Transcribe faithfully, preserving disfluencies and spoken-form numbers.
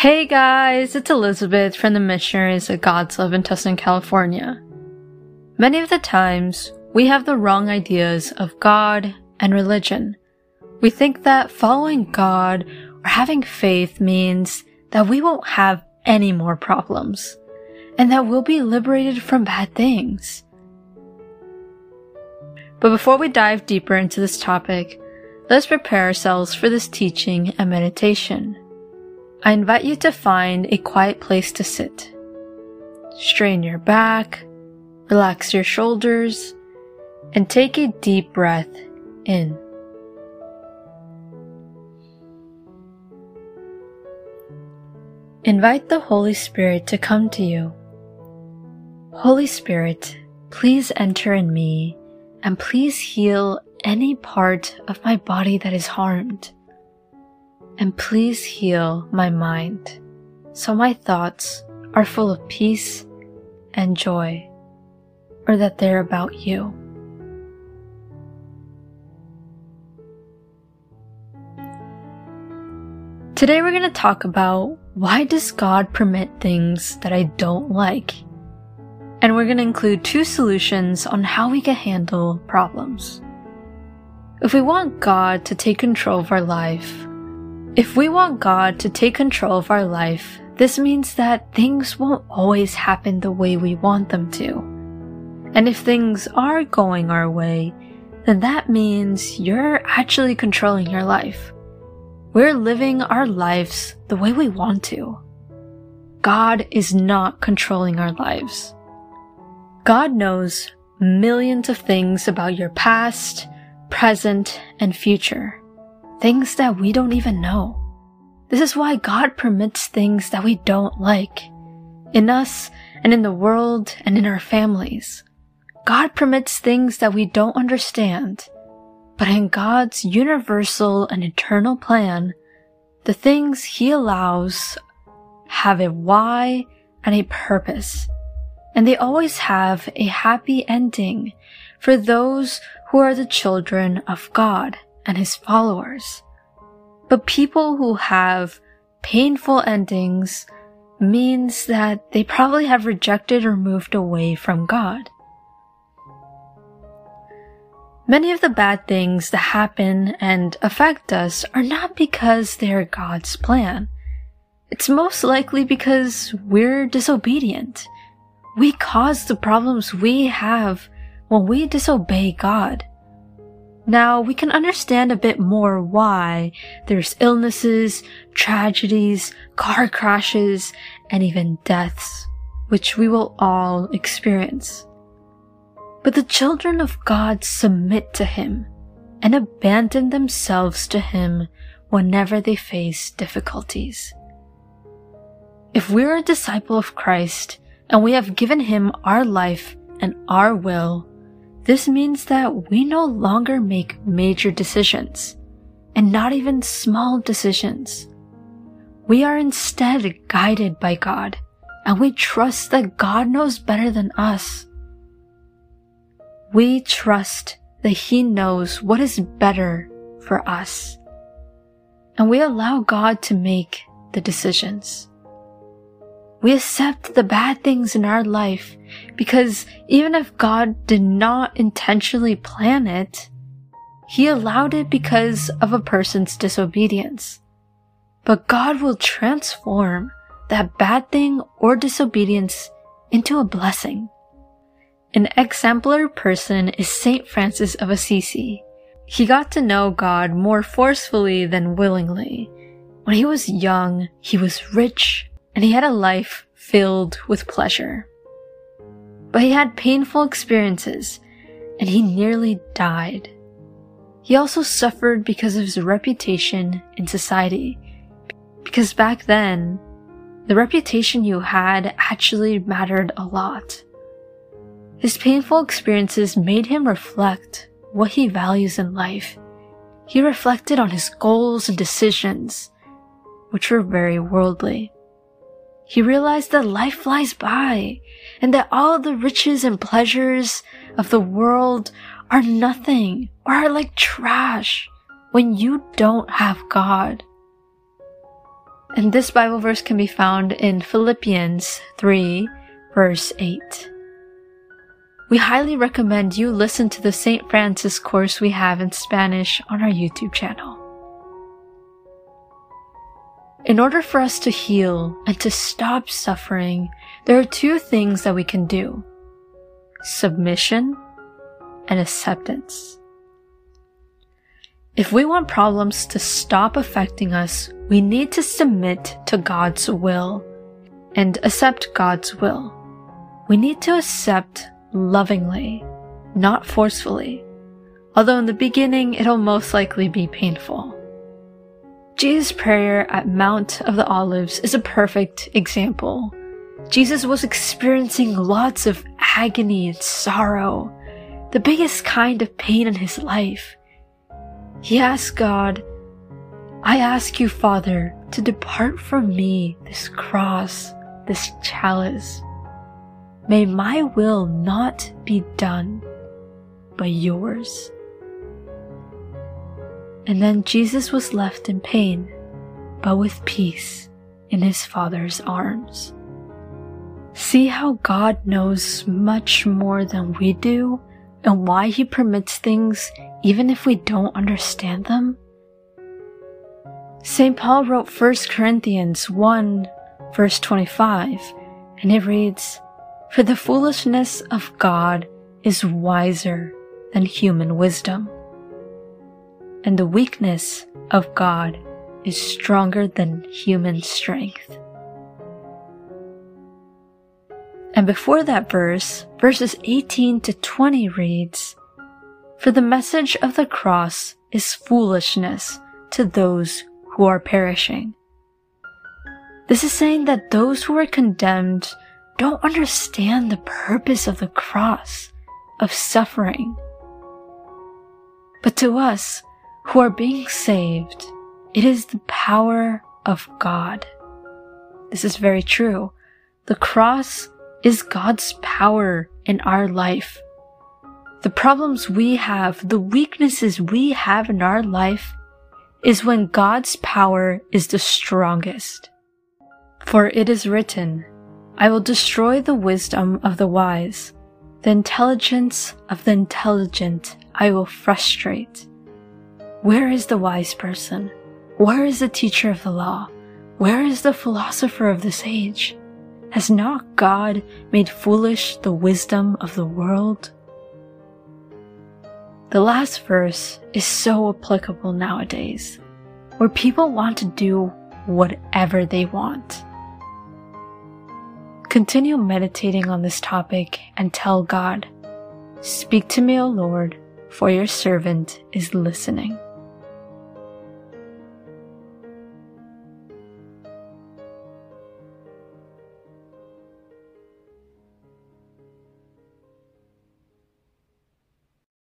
Hey guys, it's Elizabeth from the Missionaries of God's Love in Tustin, California. Many of the times, we have the wrong ideas of God and religion. We think that following God or having faith means that we won't have any more problems, and that we'll be liberated from bad things. But before we dive deeper into this topic, let's prepare ourselves for this teaching and meditation. I invite you to find a quiet place to sit. Strain your back, relax your shoulders, and take a deep breath in. Invite the Holy Spirit to come to you. Holy Spirit, please enter in me and please heal any part of my body that is harmed. And please heal my mind so my thoughts are full of peace and joy, or that they're about you. Today we're going to talk about why does God permit things that I don't like? And we're going to include two solutions on how we can handle problems. If we want God to take control of our life, If we want God to take control of our life, this means that things won't always happen the way we want them to. And if things are going our way, then that means you're actually controlling your life. We're living our lives the way we want to. God is not controlling our lives. God knows millions of things about your past, present, and future. Things that we don't even know. This is why God permits things that we don't like. In us, and in the world, and in our families. God permits things that we don't understand. But in God's universal and eternal plan, the things He allows have a why and a purpose. And they always have a happy ending for those who are the children of God and His followers. But people who have painful endings means that they probably have rejected or moved away from God. Many of the bad things that happen and affect us are not because they are God's plan. It's most likely because we're disobedient. We cause the problems we have when we disobey God. Now, we can understand a bit more why there's illnesses, tragedies, car crashes, and even deaths, which we will all experience. But the children of God submit to Him and abandon themselves to Him whenever they face difficulties. If we're a disciple of Christ and we have given Him our life and our will, this means that we no longer make major decisions, and not even small decisions. We are instead guided by God, and we trust that God knows better than us. We trust that He knows what is better for us, and we allow God to make the decisions. We accept the bad things in our life because even if God did not intentionally plan it, He allowed it because of a person's disobedience. But God will transform that bad thing or disobedience into a blessing. An exemplary person is Saint Francis of Assisi. He got to know God more forcefully than willingly. When he was young, he was rich, and he had a life filled with pleasure. But he had painful experiences, and he nearly died. He also suffered because of his reputation in society, because back then, the reputation you had actually mattered a lot. His painful experiences made him reflect what he values in life. He reflected on his goals and decisions, which were very worldly. He realized that life flies by, and that all the riches and pleasures of the world are nothing or are like trash when you don't have God. And this Bible verse can be found in Philippians three, verse eight. We highly recommend you listen to the Saint Francis course we have in Spanish on our YouTube channel. In order for us to heal and to stop suffering, there are two things that we can do: submission and acceptance. If we want problems to stop affecting us, we need to submit to God's will and accept God's will. We need to accept lovingly, not forcefully, although in the beginning it'll most likely be painful. Jesus' prayer at Mount of the Olives is a perfect example. Jesus was experiencing lots of agony and sorrow, the biggest kind of pain in his life. He asked God, "I ask you, Father, to depart from me this cross, this chalice. May my will not be done, but yours." And then Jesus was left in pain, but with peace in his Father's arms. See how God knows much more than we do, and why he permits things even if we don't understand them? Saint Paul wrote First Corinthians one, verse twenty-five, and it reads, "For the foolishness of God is wiser than human wisdom, and the weakness of God is stronger than human strength." And before that verse, verses eighteen to twenty reads, "For the message of the cross is foolishness to those who are perishing." This is saying that those who are condemned don't understand the purpose of the cross, of suffering. But to us who are being saved, it is the power of God. This is very true. The cross is God's power in our life. The problems we have, the weaknesses we have in our life, is when God's power is the strongest. For it is written, "I will destroy the wisdom of the wise. The intelligence of the intelligent I will frustrate." Where is the wise person? Where is the teacher of the law? Where is the philosopher of this age? Has not God made foolish the wisdom of the world? The last verse is so applicable nowadays, where people want to do whatever they want. Continue meditating on this topic and tell God, "Speak to me, O Lord, for your servant is listening."